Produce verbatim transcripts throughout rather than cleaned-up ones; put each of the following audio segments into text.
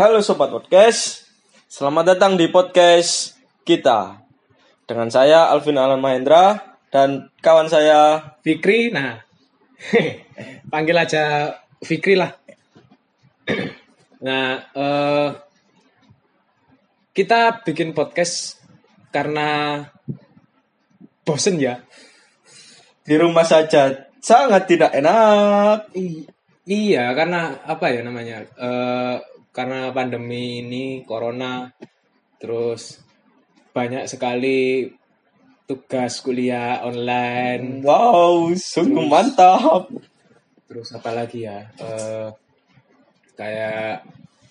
Halo Sobat Podcast, selamat datang di podcast kita. Dengan saya Alvin Alan Mahendra dan kawan saya Fikri. Nah, panggil aja Fikri lah. Nah, uh, kita bikin podcast karena bosen ya. Di rumah saja sangat tidak enak. I- iya, karena apa ya namanya? Uh, karena pandemi ini, corona, terus banyak sekali tugas kuliah online. Wow, sungguh Terus- mantap. Terus apa lagi ya? Uh, kayak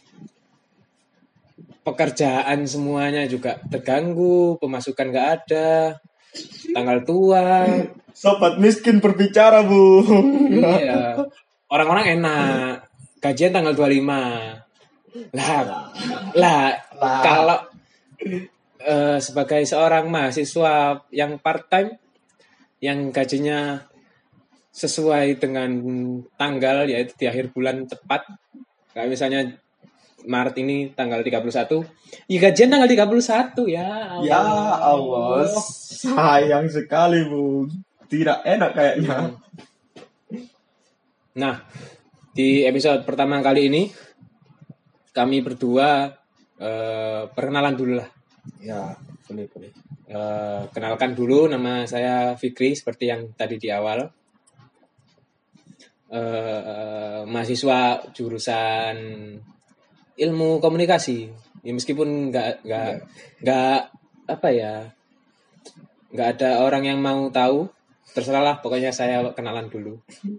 pekerjaan semuanya juga terganggu, pemasukan nggak ada, tanggal tua. Sobat miskin berbicara, Bu. Iya. Orang-orang enak, gajian tanggal dua puluh lima. Lah, lah, kalau eh, sebagai seorang mahasiswa yang part time, yang gajinya sesuai dengan tanggal, yaitu di akhir bulan tepat, kayak misalnya Maret ini tanggal tiga puluh satu, ya gajian tanggal tiga puluh satu ya. Allah. Ya Allah, sayang sekali, Bu. Tidak enak kayaknya. Nah, di episode pertama kali ini kami berdua eh, perkenalan dulu lah. Ya, boleh, boleh. Eh, kenalkan dulu, nama saya Fikri seperti yang tadi di awal. Eh, mahasiswa jurusan ilmu komunikasi. Ya, meskipun nggak nggak nggak apa ya, nggak ada orang yang mau tahu. Terserahlah, pokoknya saya kenalan dulu.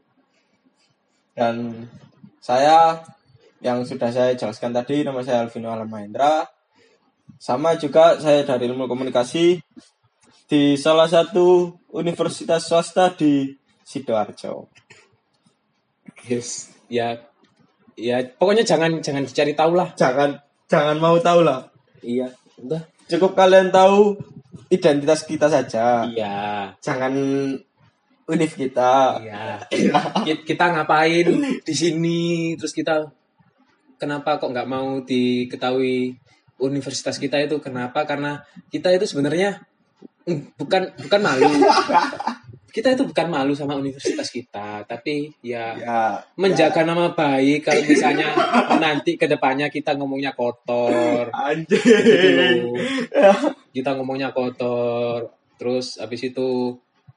Dan saya yang sudah saya jelaskan tadi, nama saya Alvin Alam Mahendra. Sama juga saya dari ilmu komunikasi di salah satu universitas swasta di Sidoarjo. Yes, ya, ya pokoknya jangan jangan dicari tahu lah. Jangan jangan mau tahu lah. Iya, udah. Cukup kalian tahu identitas kita saja. Iya, Jangan univ kita. iya. Ki- Kita ngapain di sini? Terus kita kenapa kok nggak mau diketahui universitas kita itu? Kenapa? Karena kita itu sebenarnya mm, bukan bukan malu. Kita itu bukan malu sama universitas kita, tapi ya Ya, menjaga nama baik. Kalau misalnya nanti ke depannya kita ngomongnya kotor, anjing. gitu. Kita ngomongnya kotor, terus habis itu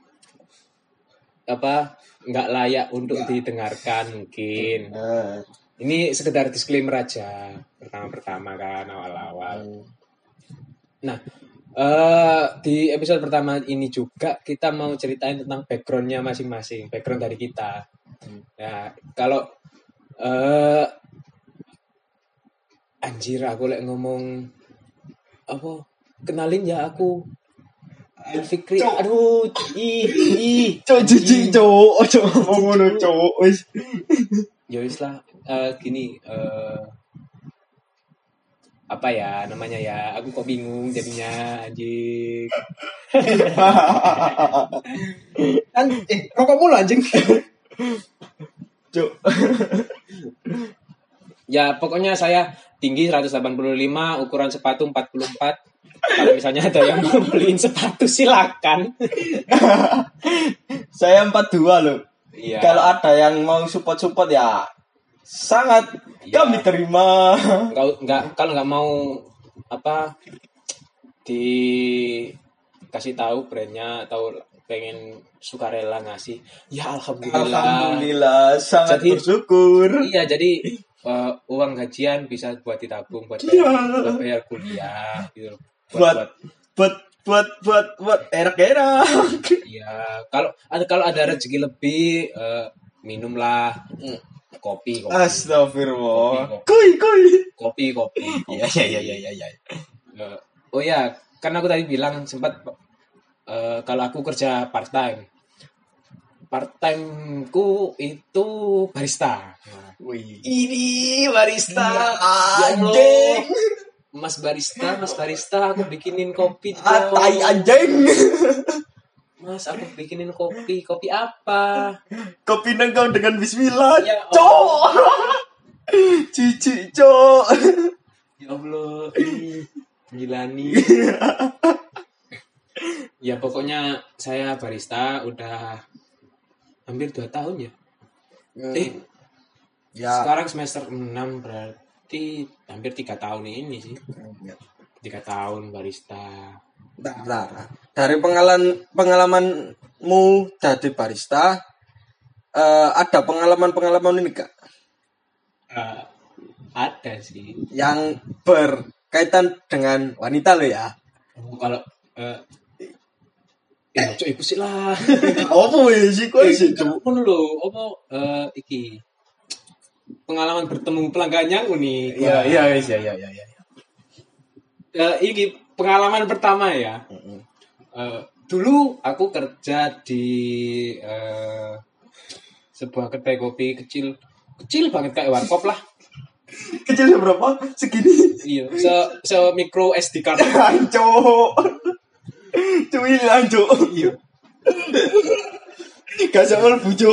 apa nggak layak untuk didengarkan mungkin. Eh, Ini sekedar disclaimer aja pertama-pertama kan awal-awal. Nah, eh, di episode pertama ini juga kita mau ceritain tentang backgroundnya masing-masing, background dari kita. Nah, kalau eh, anjir aku lek ngomong apa kenalin ya aku Fikri. Aduh, ih, ih. Cok jijik cok, cok ngomong ngono cok. Wis. Ya wis lah, eh, gini eh, apa ya namanya ya, aku kok bingung jadinya anjing. Kan eh rokok mulu anjing. Cok. Ya pokoknya saya tinggi seratus delapan puluh lima, ukuran sepatu empat puluh empat. Kalau misalnya ada yang mau beliin sepatu silakan. Saya empat puluh dua loh. Iya. Kalau ada yang mau support-support ya sangat Iya. kami terima. Enggak enggak kalau nggak mau apa dikasih tahu brandnya atau pengen sukarela ngasih, ya alhamdulillah. Alhamdulillah sangat Jadi- bersyukur. Iya, jadi eh, uang gajian bisa buat ditabung buat bayar, buat bayar kuliah gitu. Buat buat buat buat buat erak-erak. Iya, kalau ada kalau ada rezeki lebih eh, minumlah kopi kopi Astagfirullah. Kopi, Kuy kuy. kopi kopi. Iya iya iya iya iya. Eh, oh ya, karena aku tadi bilang sempat eh, kalau aku kerja part time. Part timeku itu barista. Nah, Wih. ini barista. Iya, Ya Allah. anjing. Mas barista, Mas barista, aku bikinin kopi dong. Ah, tai anjing. Mas, aku bikinin kopi. Kopi apa? Kopi nengkau dengan bismillah. Ya Cok. Cici, Cok. Ya Allah, ini Gilani. Ya pokoknya saya barista udah hampir dua tahun ya. Eh, Ya. sekarang semester enam berarti hampir tiga tahun ini sih. Tiga tahun barista. Bentar, bentar. Dari pengalaman pengalamanmu jadi barista, eh, ada pengalaman-pengalaman ini gak? Uh, ada sih. Yang berkaitan dengan wanita lo ya? Oh, kalau uh, eh cok iku sih lah. Apa ya sih kok sih? Ngono lho, apa eh iki pengalaman bertemu pelanggannya unik. Iya, iya, iya, iya, iya, iya. Eh iki pengalaman pertama ya. Heeh. Eh, dulu aku kerja di eh, sebuah kedai kopi kecil, kecil banget kayak warkop lah. Kecilnya berapa? Segini. Iya, se se micro S D card. Hancur. Cuy hancur. Iya. Gak sama bujo.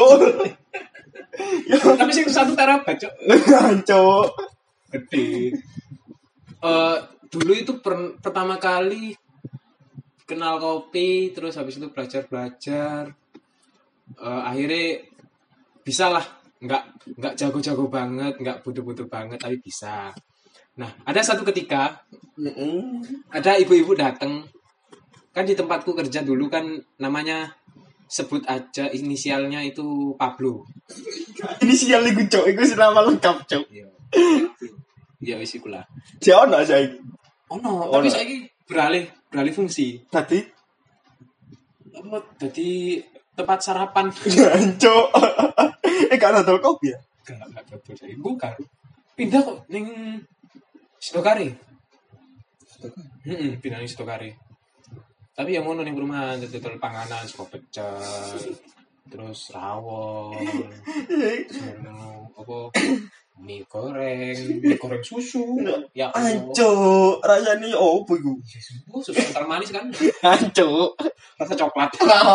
Tapi sing satu terabyte, Cok. Hancur. Gede. Eh dulu itu per, pertama kali kenal kopi, terus habis itu belajar-belajar. Eh akhirnya bisa lah, nggak nggak jago-jago banget, nggak bodoh-bodoh banget, tapi bisa. Nah, ada satu ketika ada ibu-ibu datang, kan di tempatku kerja dulu kan namanya sebut aja inisialnya itu Pablo. Inisial iku cok, iku nama lengkap cok. Iya. Ya wis iku lah. Jek ono saiki. Ono, Ono. tapi saiki beralih beralih fungsi. Tadi Apa jadi tempat sarapan. hancur. Eh gak ada kopi ya? Enggak, enggak betul saya. Bukan. Pindah kok ning Stokare. Heeh, pindah ning Stokare. Tapi yang ngono ning perumahan dodol panganan sego pecel, terus rawon. Ngono apa mie goreng, mie goreng susu. Ya Allah. Hancur. Rasanya opo iku? Oh, susu kental manis kan? Hancur. Rasa coklat.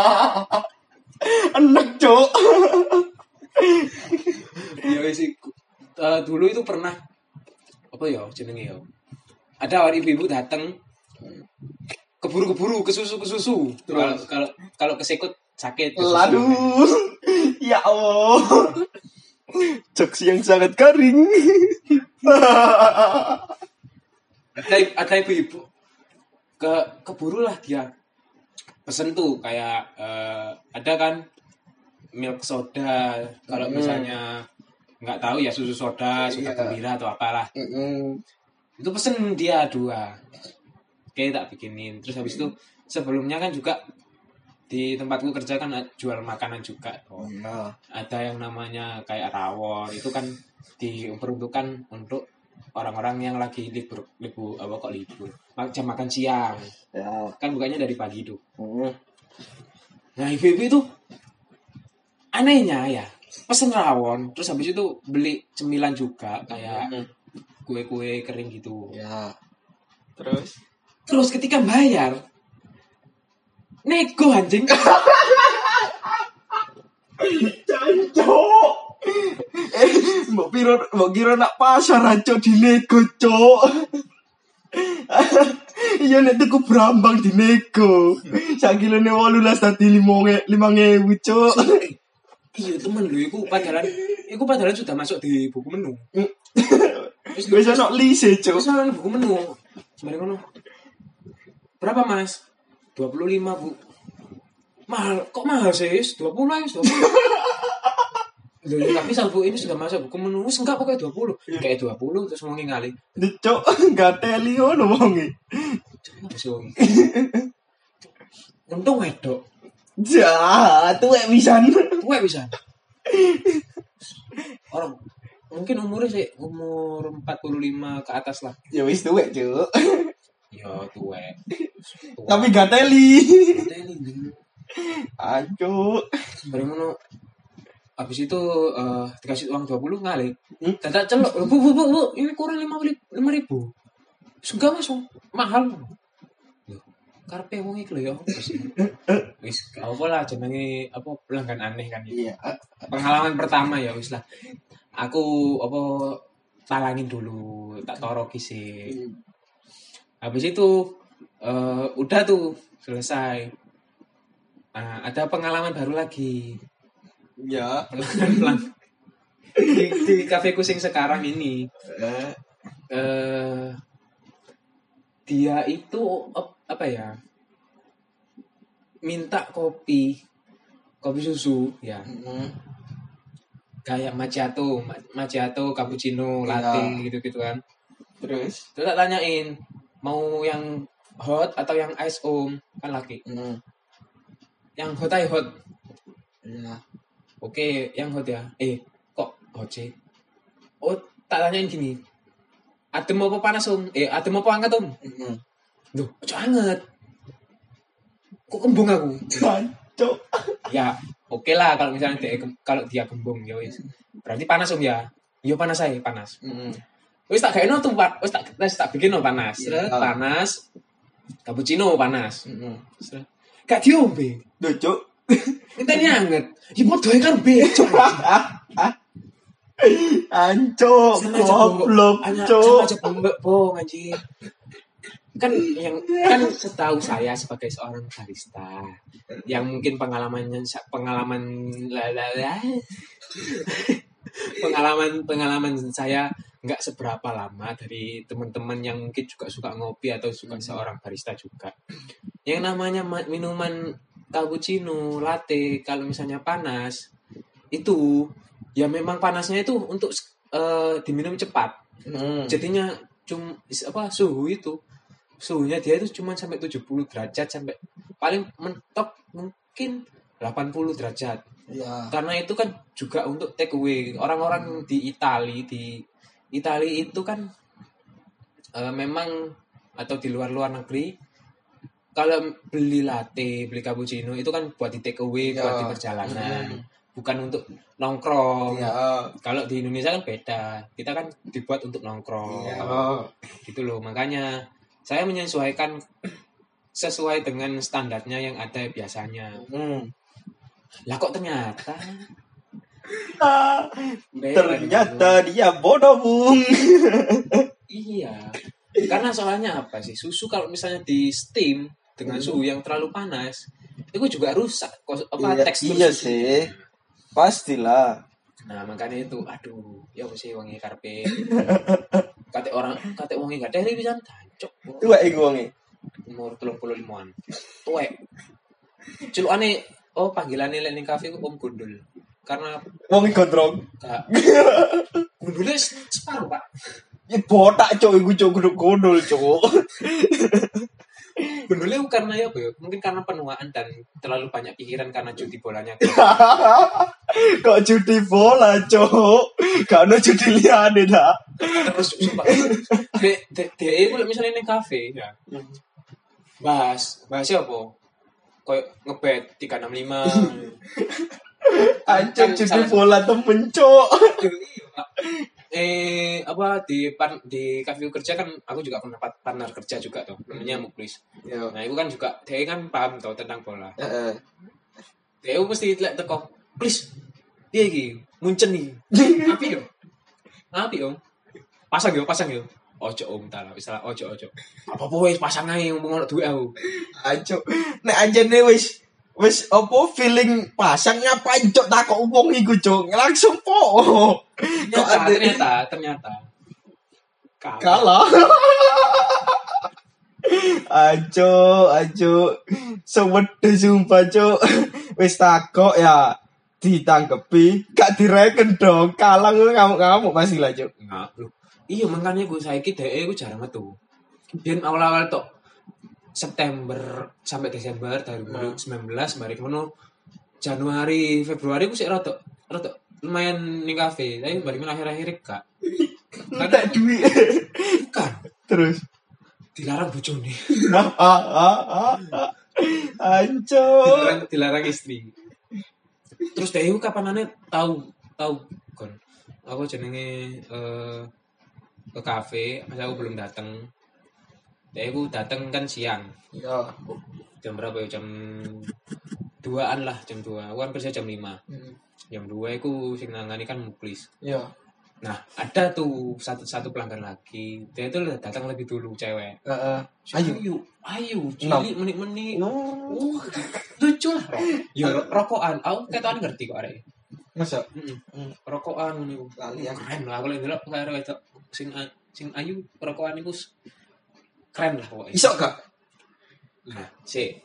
Enak cok. Ya wis iku. Eh, dulu itu pernah apa ya jenenge ya? Ada orang ibu-ibu datang keburu-keburu ke susu ke susu. Kalau kalau kalau kesekut sakit. ke susu. Laduh. Ya Allah. Jokes yang sangat garing. Ada ada ibu-ibu ke keburu lah dia pesen tuh kayak eh, ada kan milk soda kalau misalnya nggak tahu ya susu soda, soda Iya. gembira atau apalah. Itu pesen dia dua. Oke, tak bikinin. Terus habis itu sebelumnya kan juga di tempatku kerja kan jual makanan juga. Oh, Iya. ada yang namanya kayak rawon. Itu kan diperuntukkan untuk orang-orang yang lagi libur, libur apa kok libur? Jam makan siang. Ya. Kan bukannya dari pagi tuh. Mm. Nah, ibu-ibu itu anehnya ya pesen rawon, terus habis itu beli cemilan juga kayak Mm. kue-kue kering gitu. Ya. Terus Terus ketika bayar, nego anjing. Cok. Eh, mbok piro mbok kira nak pasar aja dinego, Cok. Iya nek tuku brambang dinego. Sak kilone wolulas dadi lima ewu, Cok. Iya temen lu, iku padahal, iku padahal sudah masuk di buku menu. Wis wis ono lise, Cok. Terus ana buku menu. Sembarang ngono. Berapa mas? dua puluh lima bu. Mahal, kok mahal sih? dua puluh ya, dua puluh. Loh, ya, tapi sabu ini sudah masuk buku menu. Wis enggak pokoknya dua puluh. Kayak dua puluh terus ngomongin ngali. Cok, gateli ngono wonge. Apa sih wong? Untung wedok. Ja, tuwek pisan. Tuwek bisa. Orang mungkin umurnya sih umur empat puluh lima ke atas lah. Ya wis tuwek, Cok. Ya tuwek. Tapi gateli. Teli. Aduh. Dari mana? Habis itu eh, dikasih uang dua puluh ngali. Hmm? Dadak celok. Bu, bu, bu, bu, ini kurang lima ribu. Enggak masuk. Mahal. Loh, karepe wong iki lho ya. Wis gak apa lah jenenge apa pelanggan aneh kan ya. Iya. Pengalaman pertama ya wis lah. Aku apa talangin dulu, tak toroki sih. Habis itu uh, udah tuh selesai. Nah, ada pengalaman baru lagi. Ya, Pelan-pelan. di, di kafe kusing sekarang ini. eh, Uh, dia itu apa ya? Minta kopi, kopi susu ya. mm, Kayak macchiato, macchiato, cappuccino, latte Iya. gitu-gitu kan. terus, Terus tak tanyain, mau yang hot atau yang ice om? Kan laki. mm, Yang hot aja hot. ya, Oke, yang hot ya. Eh, kok hot sih? Oh, tak tanyain gini. Adem apa panas om? Eh, adem apa hangat om? mm, Duh, ojo hangat. Kok kembung aku? Jancuk. Ya, oke lah kalau misalnya dia kalau dia kembung ya wis. Berarti panas om ya? Iya panas aja, panas. Mm, Wis tak gaeno tuh, Pak. Wis tak wis tak bikin no panas. Iya. Panas. Cappuccino panas. mm. Gak diombe. Duh, Cuk. Intine anget. Ya padha ae karo becok. Ancuk, goblok, Cuk. Sama aja bombek bong anjir. Kan yang kan setahu saya sebagai seorang barista yang mungkin pengalamannya pengalaman lalala, pengalaman pengalaman saya nggak seberapa lama dari teman-teman yang mungkin juga suka ngopi atau suka seorang barista juga. Yang namanya minuman cappuccino, latte kalau misalnya panas itu ya memang panasnya itu untuk uh, diminum cepat. Mm. Jadinya cum apa suhu itu suhunya dia itu cuma sampai tujuh puluh derajat sampai paling mentok mungkin delapan puluh derajat. Ya. Karena itu kan juga untuk take away. Orang-orang di Itali di Itali itu kan uh, memang atau di luar-luar negeri kalau beli latte, beli cappuccino itu kan buat di take away, Ya. buat di perjalanan. Mm. Bukan untuk nongkrong. Ya. Kalau di Indonesia kan beda. Kita kan dibuat untuk nongkrong. Ya. Gitu loh. Makanya saya menyesuaikan sesuai dengan standarnya yang ada biasanya. Mm. Lah kok ternyata Ah, beda ternyata dia bodoh, Bung. iya. Karena soalnya apa sih? Susu kalau misalnya di steam dengan suhu yang terlalu panas, itu juga rusak kok apa Iya, tekstur iya susu. sih. Pastilah. Nah, makanya itu aduh, ya apa sih wangi karpe. Kate orang kate wangi gak dari pisan tancuk. Tuwek iku wonge. Umur tiga puluh limaan. Tuwek. Celukane oh panggilannya lek ning kafe ku Om Gundul. Karena Wonge gondrong. gak Gundulnya separuh, Pak. Ya botak, Cuk, iku Cuk, kudu gondol, Cuk. Gundulnya karena ya apa ya? Mungkin karena penuaan dan terlalu banyak pikiran karena judi bolanya. Kok judi bola, Cuk? Gak ono judi liyane ta. Terus sumpah. Dek dek dek iku lek misale ning kafe ya. Bahas, bahas apa? Kayak ngebet tiga enam lima. Anjir, Kan judi salah- bola temen, Cuk. eh apa di pan, di kafe kerja kan aku juga pernah pat- partner kerja juga tuh namanya Muklis. Yo. Nah itu kan juga dia kan paham tuh tentang bola. Heeh. Dia mesti lihat teko, please dia iki muncen nih. Api yo, api om. Pasang yo, pasang yo. Ojo om tak lah, misalnya ojo ojo. Apa apa wes pasang aja ngomong ono duit aku. Ayo, nek anjene wis wis apa feeling pasang ngapain Cuk takok wong iku Cuk langsung po. Kok Ternyata ada ternyata ternyata kalah. kalah. Ajo, ajo. Sewede sumpah Cuk. Wis takok ya ditangkepi, gak direken dong. Kalah ngamuk-ngamuk pasti lah Cuk. Nah, lho. Iya makanya gue saiki dhek gue jarang metu. Biyen awal-awal tok September sampai Desember dua ribu sembilan belas mari ngono Januari Februari gue sih rada rada lumayan ning kafe, tapi bari akhir-akhir gak. Entek duit. Bukan Terus dilarang bojone. ah ah ah ah. Anco. dilarang dilarang istri. Terus dhek iku kapanane tahu tahu kon. Aku jenenge eh ke kafe, pas aku belum datang. Dhek iku datang kan siang. Ya. Jam berapa ya? Jam duaan lah, jam dua. Aku kan kerja jam lima. Jam dua iku sing nangani kan Muklis. Ya. Nah, ada tuh satu satu pelanggan lagi. Dia itu datang lebih dulu cewek. Heeh. Ayo, ayo, ayo, Enam. cilik menit-menit. Oh. Uh, lucu lah. Ya ro- rokokan. Aku ketok ngerti kok arek. Masa? Heeh. Hmm. Rokokan ngono. Lali ya. Keren lah aku lek ndelok karo wedok sing a- sing ayu rokokan iku s- keren lah pokoknya. Iso gak? Nah, sik.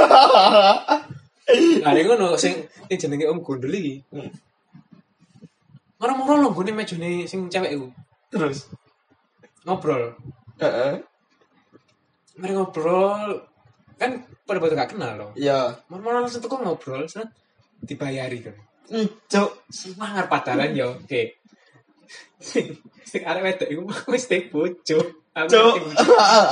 Lah ning ngono sing sing jenenge Om Gondol iki. Hmm. Moro-moro lho nggone mejane sing cewek iku. Terus. Ngobrol. Heeh. Mari ngobrol. Kan pada batu gak kenal loh. Iya. Moro-moro langsung teko ngobrol, set dibayari kan. Cuk. Semangat padaran yo. Oke. Sing sing arek wedok iku wis tek bojo. Aku Cuk. tek bojo.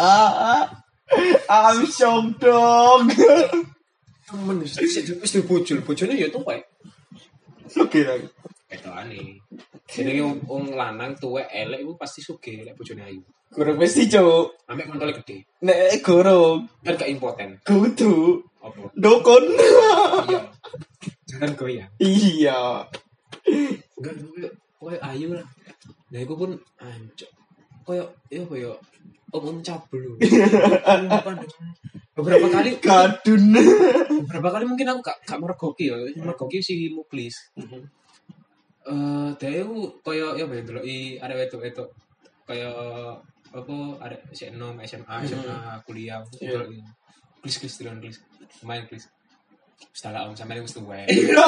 I'm shocked dong. Temen wis wis tek bojo. Bojone yo tuwek. Oke lagi. Ketokane. Jenenge wong wong lanang tuwek elek iku pasti sugih lek bojone ayu. Gurung mesti cuk. Ambek kontole gede. Nek gurung Kan gak impoten. kudu Apa? dokon. Iya. Jangan goyang. Iya. Enggak koyo koyo ayu lah. Nah iku pun ancuk. Koyo ya koyo om-om cabul. Beberapa kali Kadun. beberapa kali mungkin aku gak gak mergoki ya. Mergoki si Muklis. Eh, dia itu koyo ya ben deloki arek wedok-wedok koyo apa arek S enam S M A S M A kuliah deloki. Klis-klis delon klis. Main klis. Setelah om sampe wis tuwek.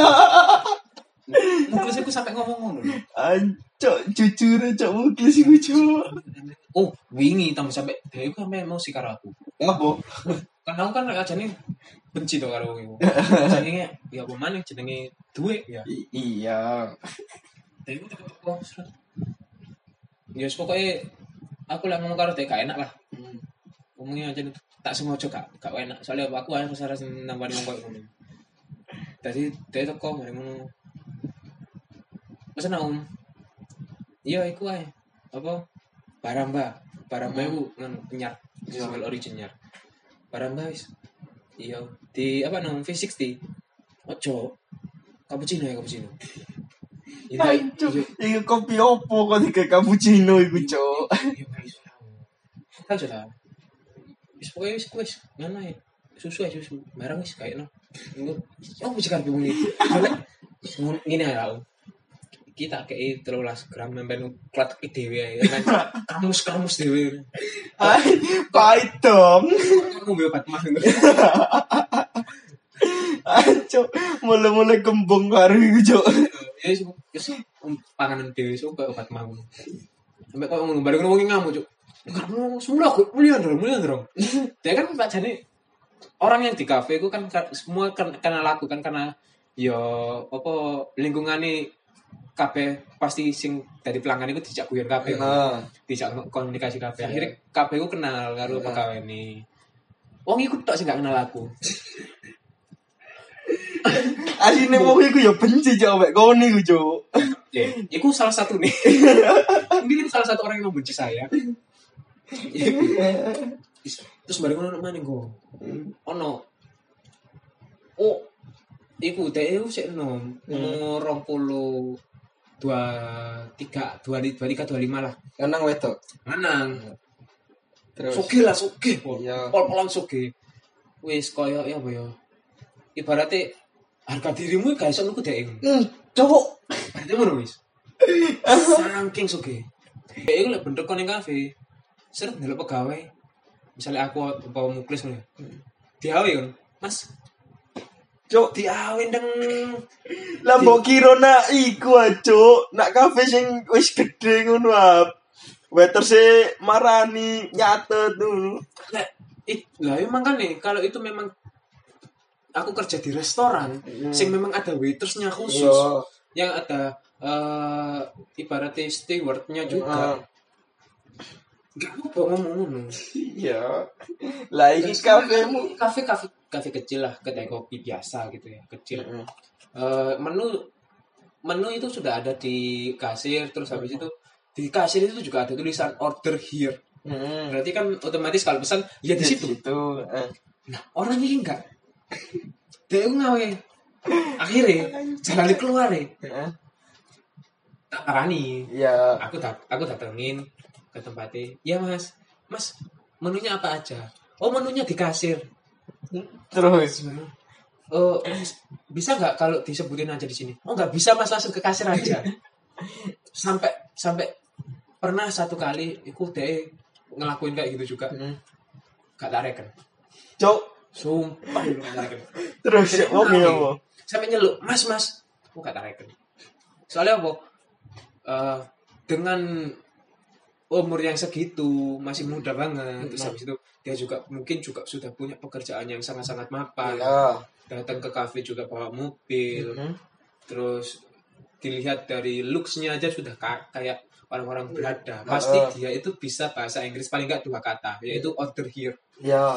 Muklis aku sampe ngomong ngono. Ancok jujur cok muklis iku cok. Oh, wingi tambah sampe dia itu sampe mau si karo aku. Ngapa? Kan aku kan ajane benci to karo wong iku. Jenenge ya apa maneh jenenge duwe ya. I- iya. Dia itu teko seret. Ya wis pokoke aku lek ngomong karo dia gak enak lah. Ngomongnya aja tak sengaja gak gak enak. Soalnya aku harus harus nambani wong koyo ngono. Tadi dia teko mari ngono. Masa Om? Iya iku ae. Apa? Baramba. Baramba iku ngono penyar. Single original. Baramba wis. Iya, di apa nang V enam puluh. Ojo. Cappuccino ya cappuccino. Ancok iku kopi opo kok digawe cappuccino iku cok. Iya guys. Kan sudah. Wis pokoke wis wis ngono ae. Susu aja susu. Barang wis kayakno. Iku yo wis karep bengi. Ngene ae lah. Kita kayak telulas gram memben klatek dhewe ae. Kamus-kamus dhewe. Hai, pahit dong. Aku mbek obat mah. Ancok mulai-mulai kembung karo iku cok. Ya wis wis panganan dhewe sok kayak obat mah. Sampai kok ngono bareng ngomongin ngamuk, Cuk. Kamu semula aku mulia dong, mulia dong. Dia kan Pak Jani orang yang di kafe itu kan semua kan karena laku kan karena yo apa lingkungane kabeh pasti sing dari pelanggan itu dijak guyon kabeh. Nah. Dijak komunikasi kabeh. Akhirnya kabeh ku kenal karo pegawai ini. Wong iku tok sing gak kenal aku. Asline wong iku ya benci cok mek kono iku cok. Ya, iku salah satu nih. Mungkin salah satu orang yang membenci saya. Terus bareng ono mana go? Ono. Oh, iku teh sik enom. Umur dua puluh dua tiga dua dua tiga dua lima lah. Lanang wedok. Lanang. Terus. Soge lah soge. Iya. Pol-polan soge. Wis koyo ya apa ya? Ibaratnya harga dirimu gak iso nuku dhek. Hmm, cok. Berarti ngono wis. Saking soge. Dhek iku lek bentuk kon ning kafe. Seret ndelok pegawai. Misalnya aku bawa Muklis ngono. Diawe kan. Mas. Cok, Diawe ndeng. lah mbok kira nak iku cok, nak kafe sing wis gedhe ngono ah. Waiter se marani nyatet dulu. Lah, it, lah emang kan nih kalau itu memang aku kerja di restoran, hmm. sing memang ada waitersnya khusus, Yo. yang ada uh, ibaratnya stewardnya juga. Gak apa ngomong ngono. Iya. Lah iki kafemu kafe kafe kafe kecil lah, kedai kopi biasa gitu ya, kecil. Mm-hmm. Uh, menu menu itu sudah ada di kasir, terus habis itu di kasir itu juga ada tulisan order here. Mm-hmm. Berarti kan otomatis kalau pesan ya di situ. Itu. Eh. Nah, orang ini enggak. Dia ngawe. Akhirnya jalan keluar ya. Heeh. tak parani. Iya. Aku dat aku datengin ke tempatnya. Ya Mas, Mas menunya apa aja? Oh menunya di kasir. Terus Oh bisa nggak kalau disebutin aja di sini? Oh nggak bisa Mas, langsung ke kasir aja. Sampai sampai pernah satu kali ikut deh ngelakuin kayak gitu juga. Hmm. Gak tak reken. Cok, Sumpah lu gak tak reken. terus wong ya apa? Sampai nyeluk, Mas Mas, aku gak tak reken. Soalnya apa? Uh, dengan umur yang segitu masih muda banget, terus habis itu dia juga mungkin juga sudah punya pekerjaan yang sangat-sangat mapan. Iya. Datang ke kafe juga bawa mobil, Mhm. terus dilihat dari looks-nya aja sudah ka- kayak orang-orang berada. Pasti Uh. dia itu bisa bahasa Inggris paling nggak dua kata, yaitu order here. Ya.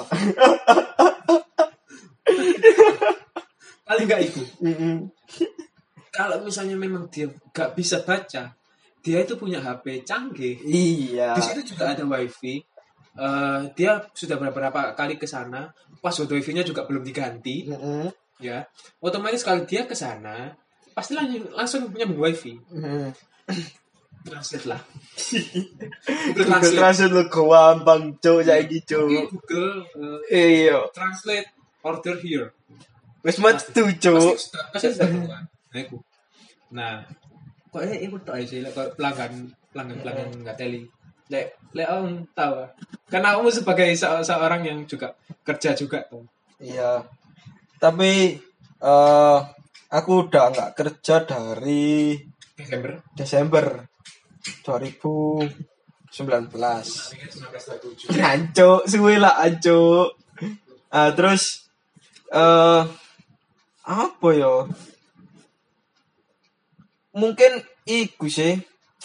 Paling nggak itu. Mm-mm. Kalau misalnya memang dia nggak bisa baca, dia itu punya H P canggih. Iya. Di situ juga ada wifi. Eh, dia sudah beberapa kali ke sana. Password wifi-nya juga belum diganti. Mm-mm. Ya, otomatis kalau dia ke sana, pasti langsung langsung nyambung wifi. Mm-mm. Translate lah. Google Translate lu gampang cok saiki Oke, cok. Google eh, Iya. translate order here. Wis metu Pasti cok. sudah- pasti sudah keluar. Nah, itu. Nah, kok ini ikut tak sih, lek kok pelanggan pelanggan pelanggan nggak teli. Lek lek om tahu. Karena kamu sebagai se- seorang yang juga kerja juga tuh. Iya. Tapi eh aku udah nggak kerja dari Desember. Desember dua ribu sembilan belas. Pikir sembilan belas dua puluh tujuh. Ancuk, suwe lah ancuk. Ah, terus eh apa ya? Mungkin iku sih.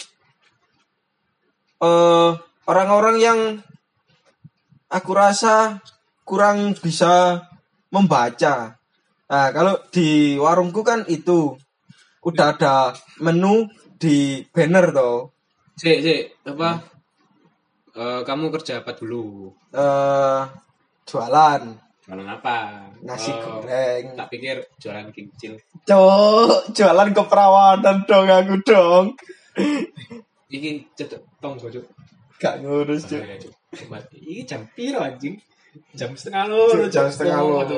Eh orang-orang yang aku rasa kurang bisa membaca. Nah, kalau di warungku kan itu udah ada menu di banner toh. Sik, sik, apa? Eh, kamu kerja apa dulu? Eh jualan Jualan apa? nasi Oh, goreng. tak pikir jualan kincil. Cok, jualan keperawanan dong aku dong. Iki cetok tong bojok. Gak ngurus, Cuk. Coba. Iki jam piro anjing? Jam setengah loro. Jam setengah loro.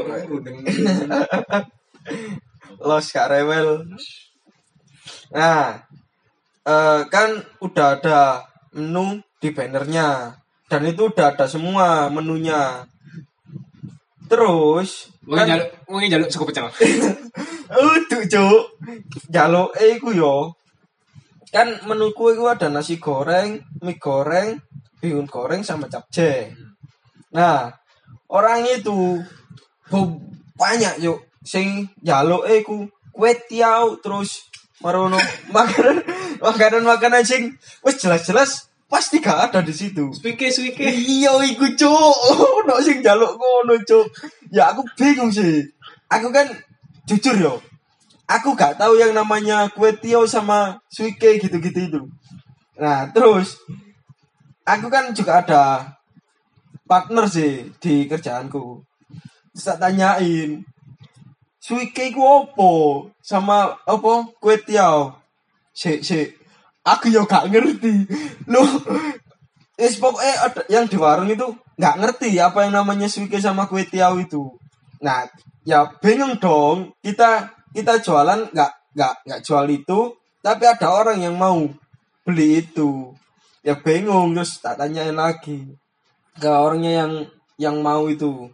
Los gak rewel. Nah, eh, kan udah ada menu di bannernya dan itu udah ada semua menunya. Terus Wong kan jaluk, wong jaluk cukup pecel. Uduk cuk. Jaluk eh iku yo. Kan menuku iku ada nasi goreng, mie goreng, bihun goreng sama capcay. Nah, orang itu bo- banyak yuk sing jaluk eh iku kue tiaw terus marono makanan makanan makanan sing wis jelas-jelas pasti gak ada di situ. Suike suike. Iya iku cuk. Ono sing njaluk ngono cuk. Ya aku bingung sih. Aku kan jujur yo. Aku gak tahu yang namanya kue tiaw sama suike gitu-gitu itu. Nah, terus aku kan juga ada partner sih di kerjaanku. Terus tak tanyain, suike iku opo sama opo kue tiaw? Sik sik. Aku yo gak ngerti. Loh, es pokoknya ada yang di warung itu nggak ngerti apa yang namanya suike sama kue tiaw itu. Nah, ya bingung dong. Kita kita jualan nggak nggak nggak jual itu, tapi ada orang yang mau beli itu. Ya bingung terus tak tanyain lagi ke orangnya yang yang mau itu.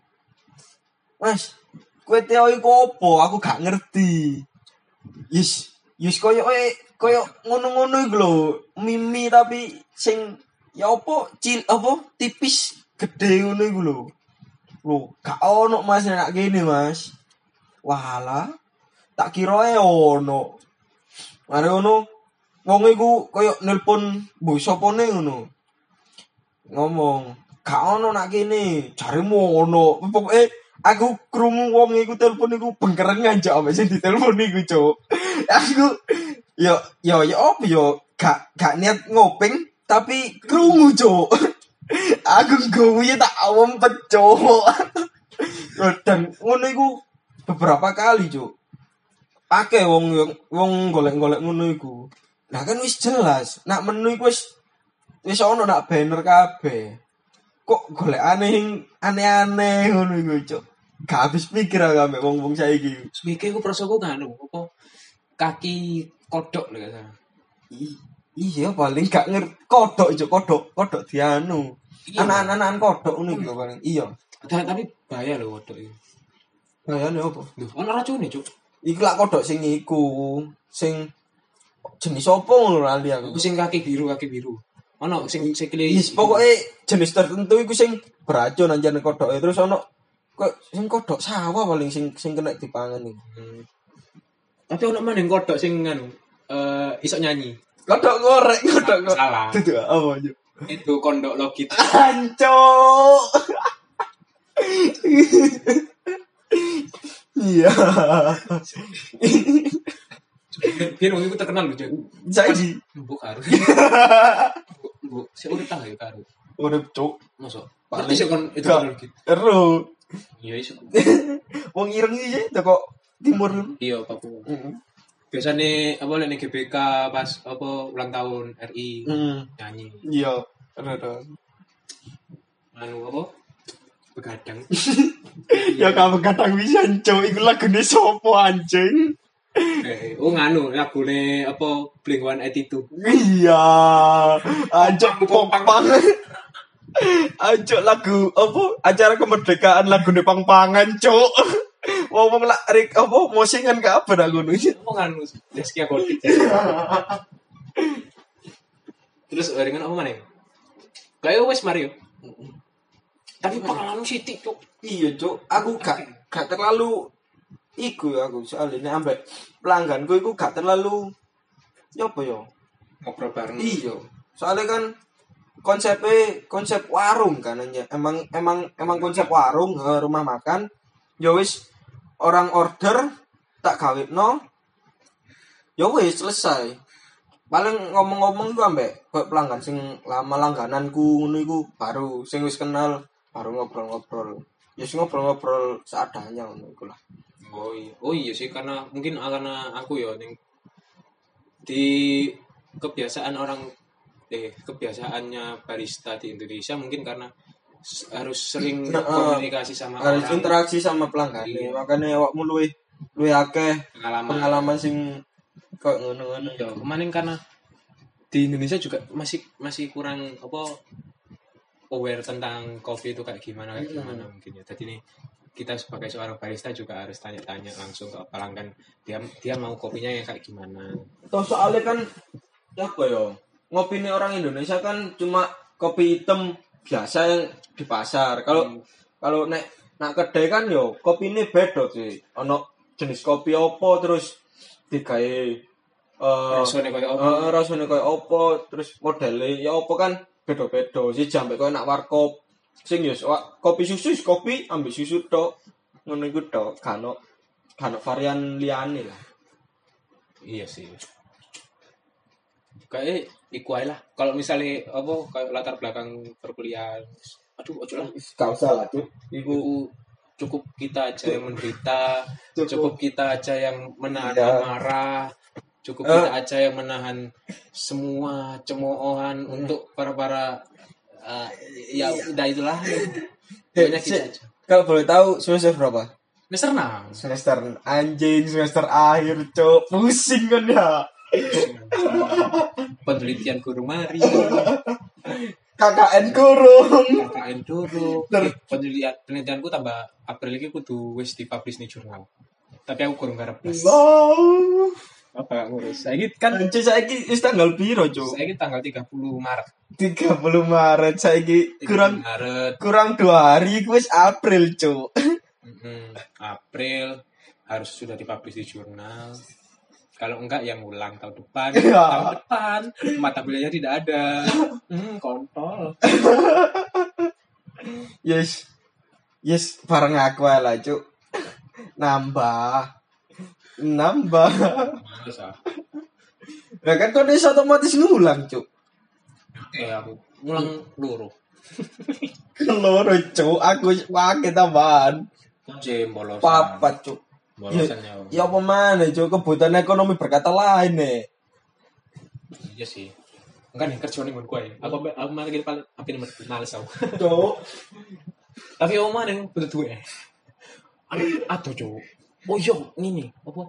Mas, kue tiaw itu opo? Aku gak ngerti. Yes, yes koyo eh koyo ngono-ngono iku lho, mimi tapi sing ya opo cil opo tipis gede ngono iku lho. Lho, gak ono Mas nek kene Mas. Walah, tak kira e ono. Mare ngono wong iku koyo nelpon mbok sopone ngono. Ngomong, gak ono nak kene, jaremu ono. Pokoke aku krungu wong iku telepon iku bengkerengan jek ambek sing ditelepon iku, Cuk. Aku yo yo yo opo yo gak gak niat ngopeng tapi krungu, Cuk. Aku gowe tak awam Cuk. Dan ngono iku beberapa kali, Cuk. Akeh wong wong golek-golek ngono iku. Nah kan wis jelas, nak menu iku wis wis ono nak banner kabeh. Kok golekane sing aneh-aneh ngono iku, Cuk. Gak habis pikir aku ambek wong-wong saiki. Semike ku prosoku nganu apa kaki kodok lho kata. Iya paling gak ngerti kodok Cuk, kodok, kodok dianu. Anak-anak kodok ngono iku paling. Iya. Tapi bahaya lho kodok iki. Bahayane opo? Lho, ono racune, Cuk. Iku lak kodok sing iku, sing jenis opo ngono lali aku. Iku sing kaki biru, kaki biru. Ono sing sikile. Yes, pokoke jenis tertentu iku sing beracun anjane kodoke. Terus ono kok sing kodok sawah paling sing sing kena dipangan iki. Hmm. Tapi ono maning kodok sing anu eh iso nyanyi. Kodok gorek, kodok gorek. Salah. Itu apa aja? Itu kondok logit. Ancok. Iya. Biar wong iku terkenal lho, Cuk. Saiki Mbok karo. Mbok sik urip tangga ya karo. urip Cuk. Mosok. Paling Paling sik kon itu gak logit. Ero. Iya iso. Wong ireng iki teko timur. Iya, Papua. Heeh. Biasane apa nek G B K pas apa ulang tahun R I Heeh. nyanyi. Iya, ero. Anu apa? Begadang. Ya kamu kadang bisa Cuk, iku lagune sopo anjing? Eh, oh nganu lagune apa Blink one eighty-two. Iya. Anjok pang-pang. Anjok lagu apa? Acara kemerdekaan lagune pang-pangan, Cuk. Wong-wong lak rik apa mosingan kabeh aku ngono. Apa nganu Zaskia Gotik. Terus ringan apa mana? Kayak wes Mario. Tapi pengalaman sithik, Cuk. Iya, Cuk. Aku gak gak terlalu iku ya aku soalnya ambek pelangganku iku gak terlalu ya apa ya? Ngobrol bareng. Iya. Soalnya kan konsepnya konsep warung kan aja. Emang emang emang konsep warung eh, rumah makan. Ya wis orang order tak gawekno. Ya wis selesai. Paling ngomong-ngomong iku ambek kok pelanggan sing lama langgananku ngono iku baru sing wis kenal baru ngobrol-ngobrol. Ya sing ngobrol-ngobrol seadanya ngono iku lah. Oh iya, oh iya sih karena mungkin karena aku ya ning di kebiasaan orang eh kebiasaannya barista di Indonesia mungkin karena harus sering Nah, komunikasi sama harus orang, interaksi sama pelanggan. Iya. Makanya awakmu luwih luwih akeh pengalaman. pengalaman sing kok ngono-ngono. Ya, kemarin karena di Indonesia juga masih masih kurang apa aware tentang kopi itu kayak gimana kayak gimana mungkin ya. Jadi ini kita sebagai seorang barista juga harus tanya-tanya langsung ke pelanggan dia dia mau kopinya yang kayak gimana. Toh soalnya kan apa ya? Ngopi ini orang Indonesia kan cuma kopi hitam biasa yang di pasar. Kalau hmm. kalau nek nak kedai kan yo kopi ini beda sih. Ono jenis kopi opo terus digawe eh Rasane koyo apa? Uh, rasane koyo opo terus modele ya opo kan beda-beda. Si jambe koyo nak warkop sing yo kopi susu kopi ambil susu tok. Ngono iku tok, kan kan varian liyane lah. Iya sih. Kayak iku ae lah. Kalau misalnya apa kayak latar belakang perkuliahan, aduh ojo lah. Gak usah lah, Cuk. Iku cukup kita aja yang menderita, cukup, cukup kita aja yang menahan iya. amarah, cukup uh. kita aja yang menahan semua cemoohan uh. untuk para-para uh, ya udah itulah. Banyak kita aja. Kalau boleh tahu semester berapa? Semester enam. Semester anjing, semester akhir, Cuk. Pusing kan ya. Penelitian guru mari. K K N kurung. K K N durung. Eh, penelitian penelitianku tambah April iki kudu wis dipublish ning jurnal. Tapi aku kurang garap blas. Wow. Apa ngurus? Saiki kan Anjing saiki wis tanggal piro, Cuk? saiki tanggal tiga puluh Maret. tiga puluh Maret saiki kurang Maret. kurang dua hari wis April, Cuk. Mm-hmm. April harus sudah dipublish di jurnal. Kalau enggak yang ulang tahun depan. Tahun depan mata kuliahnya tidak ada. Hmm, kontol. Yes. Yes, bareng aku ae lah, Cuk. Nambah. Nambah. Males ah. Lah kan kok iso otomatis ngulang, Cuk. Oke, aku ngulang loro. Keloro, Cuk. Aku pakai tambahan. Jem bolosan. Papat, Cuk. Bolosannya. Ya apa mana, Cuk? Kebutuhan ekonomi berkata lain nih. Iya sih. Enggak nih kerja ning nggonku ae. Aku aku malah gini paling api nomor males aku. Cuk. Tapi omah ning butuh duwe. Aduh, aduh, Cuk. Oh iya, ngene, apa?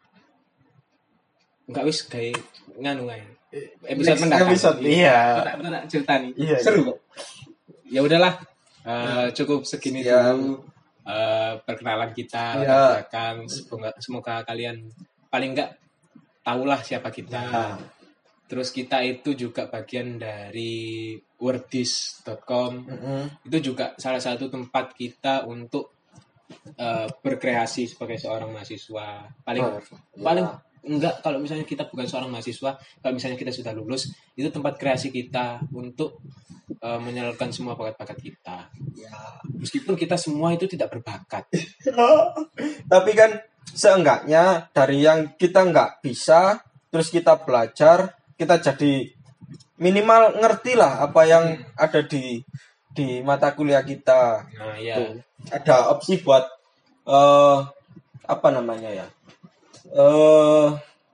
Enggak wis gawe nganu ae. Episode Next mendatang. episode, iya. Tak tak cerita nih. Iya, Seru iya. kok. Ya udahlah. Eh, cukup segini Sekian. dulu eh, perkenalan kita. Iya. Akan semoga semoga kalian paling enggak tahulah siapa kita. Ya. Terus kita itu juga bagian dari wordis dot com. Mm-mm. Itu juga salah satu tempat kita untuk eh, berkreasi sebagai seorang mahasiswa. Paling Oh, paling ya. enggak kalau misalnya kita bukan seorang mahasiswa, kalau misalnya kita sudah lulus, itu tempat kreasi kita untuk eh, menyalurkan semua bakat-bakat kita. Ya. Meskipun kita semua itu tidak berbakat. Tapi kan seenggaknya dari yang kita nggak bisa, terus kita belajar, kita jadi minimal ngerti lah apa yang ada di di mata kuliah kita. Nah, ya. Tuh. Ada opsi buat eh apa namanya ya? Eh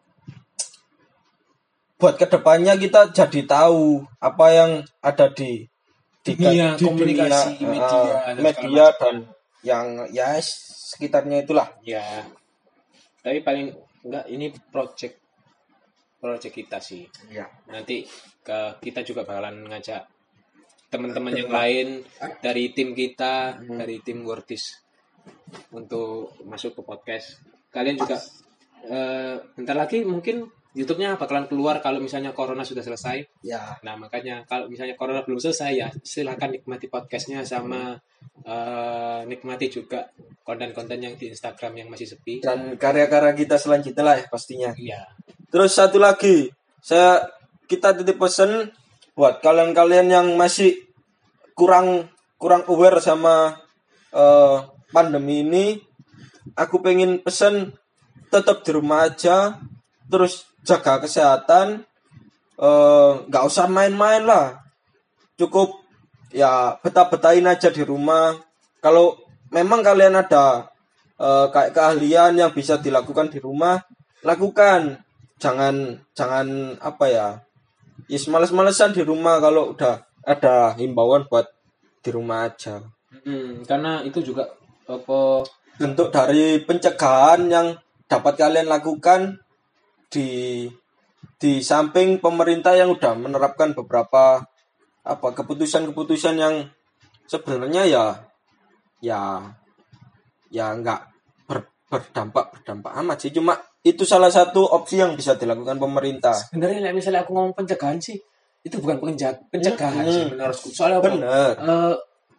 buat kedepannya kita jadi tahu apa yang ada di di, Dunia di komunikasi, dunia, media, eh, dan media segala macam. dan yang ya sekitarnya itulah. Ya. Tapi paling enggak ini project project kita sih. Ya. Nanti ke kita juga bakalan ngajak teman-teman yang lain dari tim kita, Hmm. dari tim Wordis untuk masuk ke podcast. Kalian juga eh, bentar lagi mungkin YouTube-nya bakalan keluar kalau misalnya corona sudah selesai. Ya. Nah, makanya kalau misalnya corona belum selesai ya silakan nikmati podcastnya sama eh, nikmati juga konten-konten yang di Instagram yang masih sepi. Dan karya-karya kita selanjutnya lah ya pastinya. Iya. Terus satu lagi, saya kita titip pesan buat kalian-kalian yang masih kurang kurang aware sama eh, pandemi ini, aku pengen pesan tetap di rumah aja, terus jaga kesehatan, eh, nggak usah main-main lah, cukup ya betah-betahin aja di rumah. Kalau memang kalian ada eh, kayak keahlian yang bisa dilakukan di rumah, lakukan. Jangan jangan apa ya, yes males-malesan di rumah kalau udah ada himbauan buat di rumah aja. Hmm, karena itu juga apa Bentuk dari pencegahan yang dapat kalian lakukan di di samping pemerintah yang udah menerapkan beberapa apa keputusan-keputusan yang sebenarnya ya ya ya nggak ber, berdampak berdampak amat sih, cuma itu salah satu opsi yang bisa dilakukan pemerintah. sebenarnya misalnya aku ngomong pencegahan sih itu bukan pencegahan, pencegahan Hmm. sih menurutku. Soalnya apa? Bener. Eh,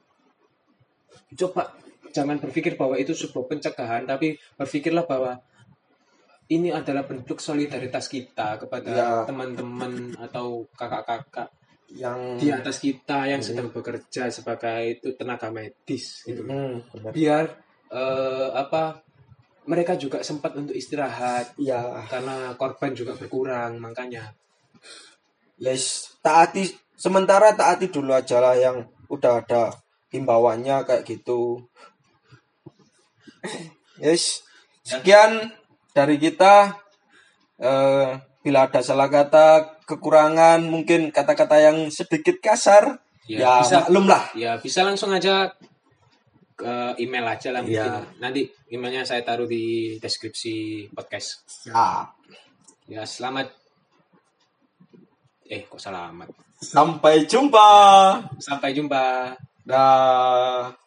coba jangan berpikir bahwa itu sebuah pencegahan, tapi berpikirlah bahwa ini adalah bentuk solidaritas kita kepada Ya. teman-teman atau kakak-kakak Yang di atas kita yang sedang bekerja sebagai itu tenaga medis gitu. Hmm, bener. Biar eh, apa mereka juga sempat untuk istirahat Ya, karena korban juga berkurang, makanya yes, taati sementara taati dulu aja lah yang udah ada himbauannya kayak gitu. Yes, sekian dari kita. Eh, bila ada salah kata, kekurangan, mungkin kata-kata yang sedikit kasar, Ya, ya, bisa. maklum lah. ya bisa langsung aja ke email aja lah mungkin. Ya. Nanti emailnya saya taruh di deskripsi podcast. Ya, Ya, selamat. Eh, kok selamat. sampai jumpa. Sampai jumpa. Dah.